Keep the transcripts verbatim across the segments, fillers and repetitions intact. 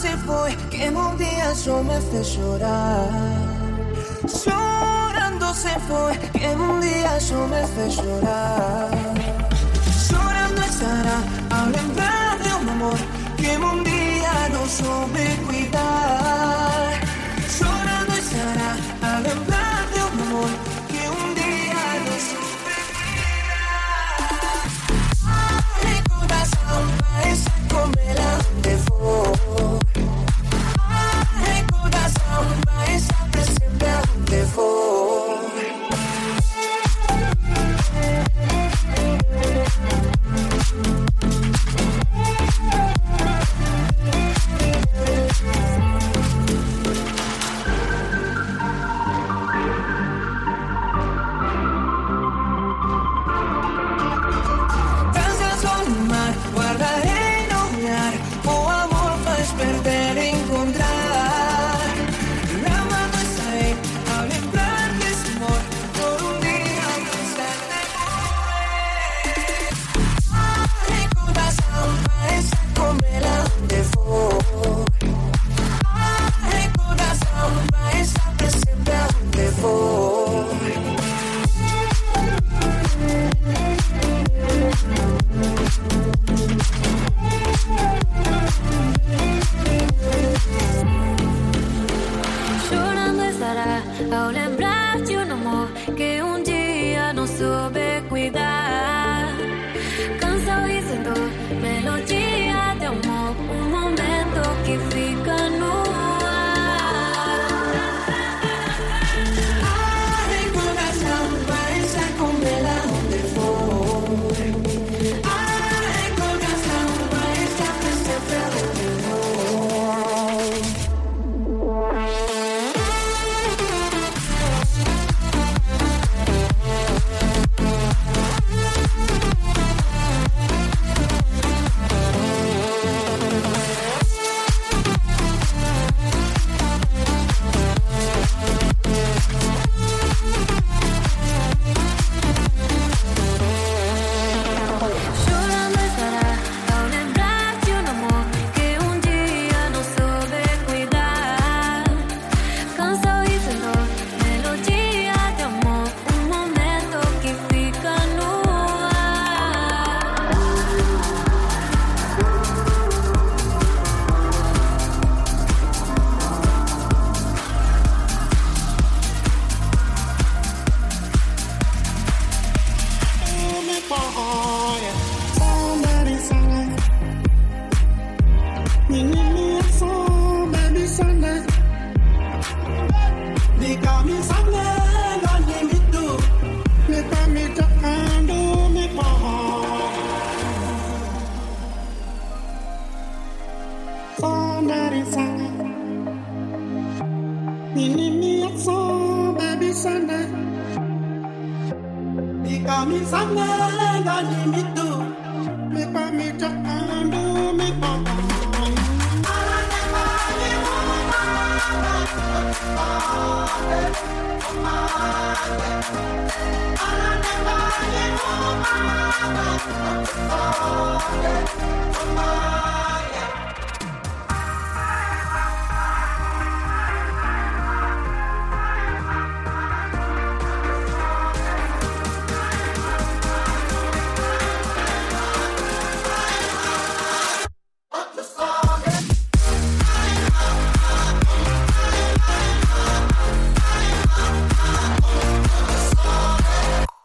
se foi, que un día só me fez chorar. Chorando se foi, que un día só me fez chorar. Chorando estará ao lembrar de un amor que un día no soube cuidar. Chorando estará ao lembrar de un amor que un día no soube cuidar. Ai, coração, vai se comer onde for. Ai, coração, vai estar sempre onde for.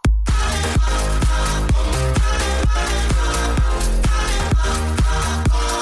Oh,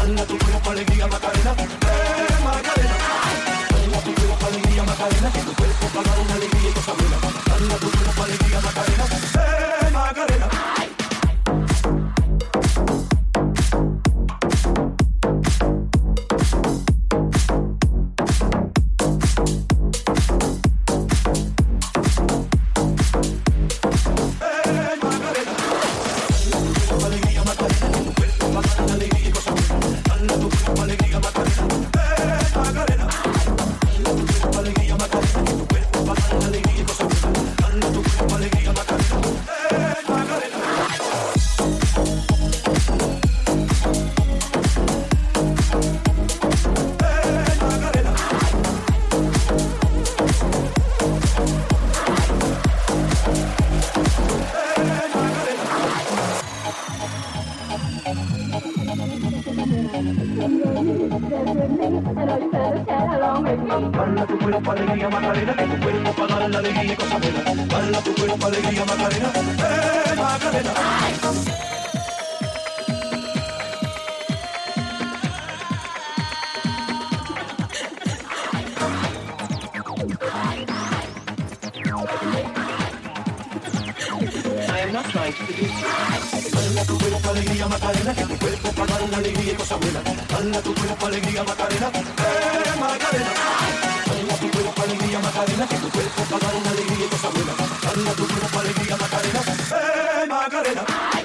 Dale tu cuerpo alegría Macarena, eh Macarena. Dale tu cuerpo alegría Macarena, que tu cuerpo para dar una alegría y cosa buena. Dale tu cuerpo alegría Macarena, eh Macarena. Baila tu cuerpo alegría Macarena, que tu cuerpo para dar la alegría y cosa buena. Baila tu cuerpo alegría Macarena, eh Macarena. I am not trying to seduce you. Baila tu cuerpo alegría Macarena, que tu cuerpo para dar la alegría y cosa buena. Baila tu cuerpo alegría Macarena, eh Macarena. Baila tu cuerpo alegría Macarena, que tu cuerpo para dar una alegría y cosa buena. Baila tu cuerpo alegría Macarena, eh Macarena.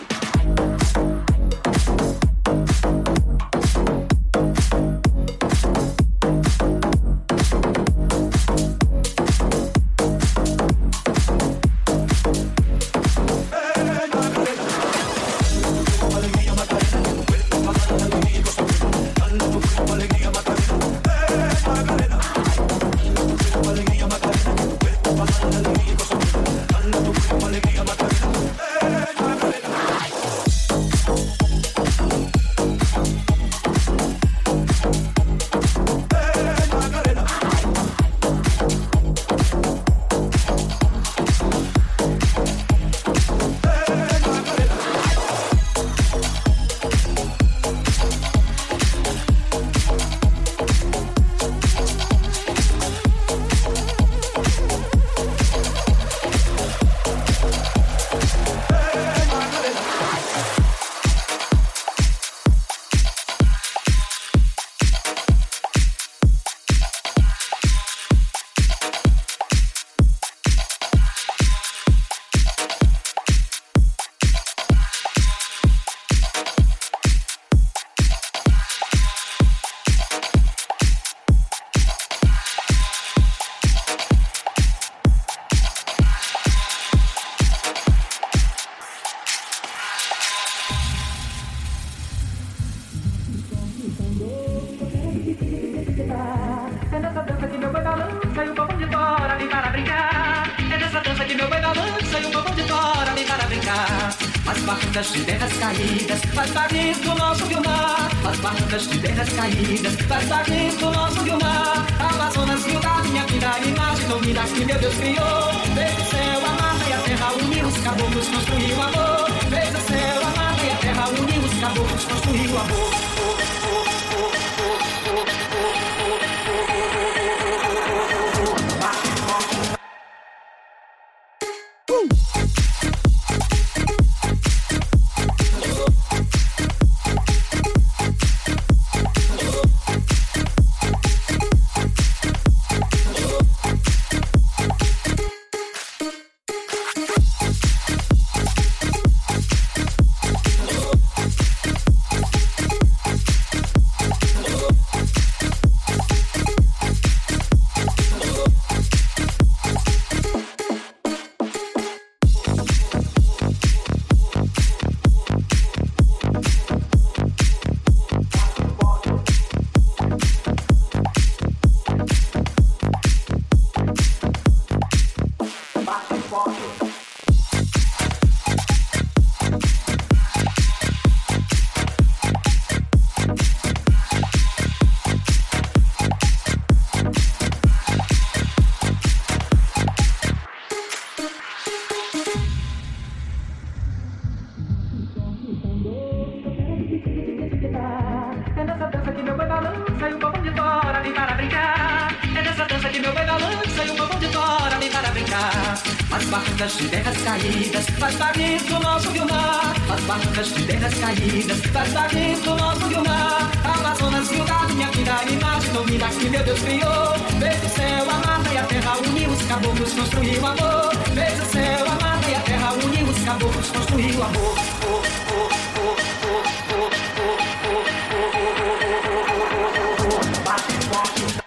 As barcas de terras caídas, faz barris do nosso Guilmar. As barcas de terras caídas, faz barris do nosso Guilmar. Amazonas, rio da minha vida, imagem tão linda que meu Deus criou. Desde o céu, a mata e a terra, uniu os caboclos, construiu amor. Desde o céu, a mata e a terra, uniu os caboclos, construiu amor. As barrancas de terras caídas, faz barris do nosso Guilmar. As barrancas de terras caídas, faz barris do nosso Guilmar. Amazonas, Rio Gado, minha vida, imagem ouvida que meu Deus criou. Veja o céu, a mata e a terra, uniu os caboclos, construiu o amor. Veja o céu, a mata e a terra, uniu os caboclos, construiu o amor. Oh, oh, oh, oh, oh, oh, oh, oh, oh, oh, oh, oh. Bate forte.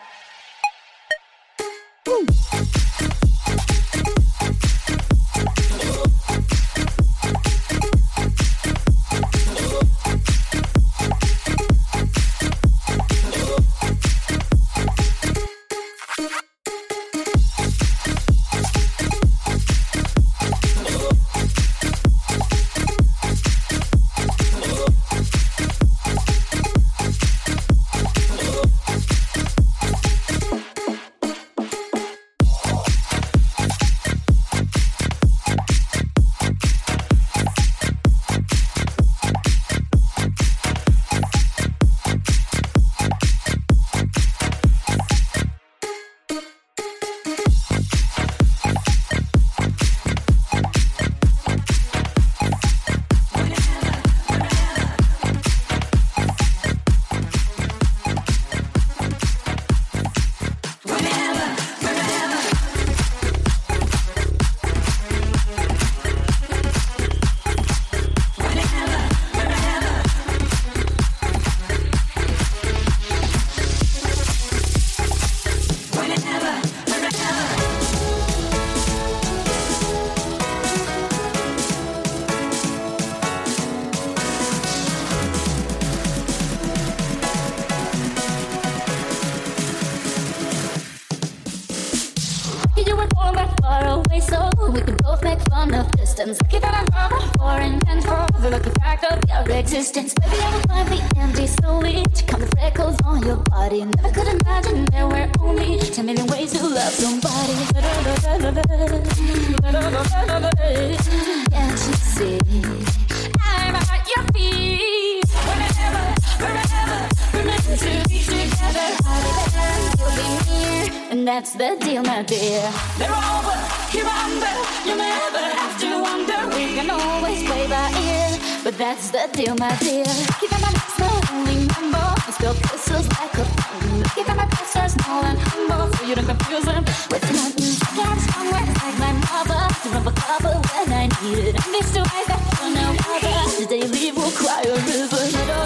Lucky that I love a foreign and for the lucky fact of your existence. Maybe I will find the empty slowly to count the freckles on your body. Never could imagine there were only ten million ways to love somebody. Can't you see? I'm at your feet. Whenever, wherever, we're meant to be together. I'll be there, you'll be near, and that's the deal, my dear. They're over, here under, you'll never have to wonder. We can always play by ear, but that's the deal, my dear. Keep on my lips, the only number. I spill kisses like a fountain. Keep on my best are small and humble, so you don't confuse them with nothing. I can't strong words like my mother to rub a cover when I need it. And these two eyes that for no other, the day leave will cry a river.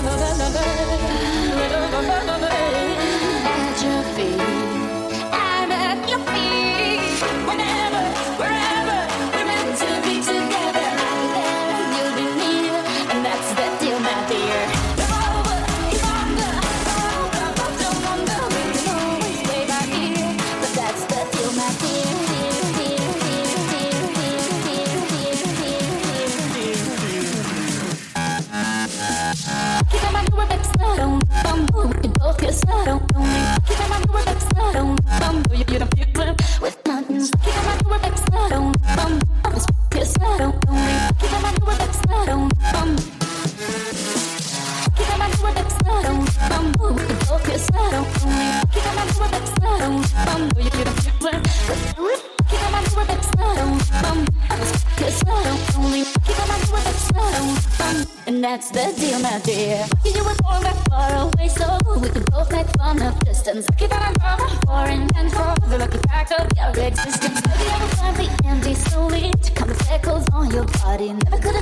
At your feet, I'm at your feet. Whenever, wherever, we're meant to be together. I'll be there and you'll be near, and that's the deal, my dear. You're over, you're under, you're over, but don't wonder. We can always play by ear, but that's the deal, my dear. Dear, dear, dear, dear, dear, dear, dear, dear, dear. Keep on my door, baby, slow, bumble. We can both get slow, keep on my door, baby, slow, bumble. You don't feel good with nothing. Keep on my door, baby, slow, bumble. Always get slow, keep on my door, baby, slow, bumble. Keep on my door, baby, slow, bumble. We can both get slow, keep on my door, baby, slow, bumble. You don't feel good with keep on my door, baby, slow, bumble. Always get slow, keep on my door, baby, slow, bumble. And that's the deal, my dear. You were born that far away, so we could both make fun of distance. Keep on our love, foreign and for the lucky fact of your existence. Maybe I will find the empty slowly to count the freckles on your body. Never could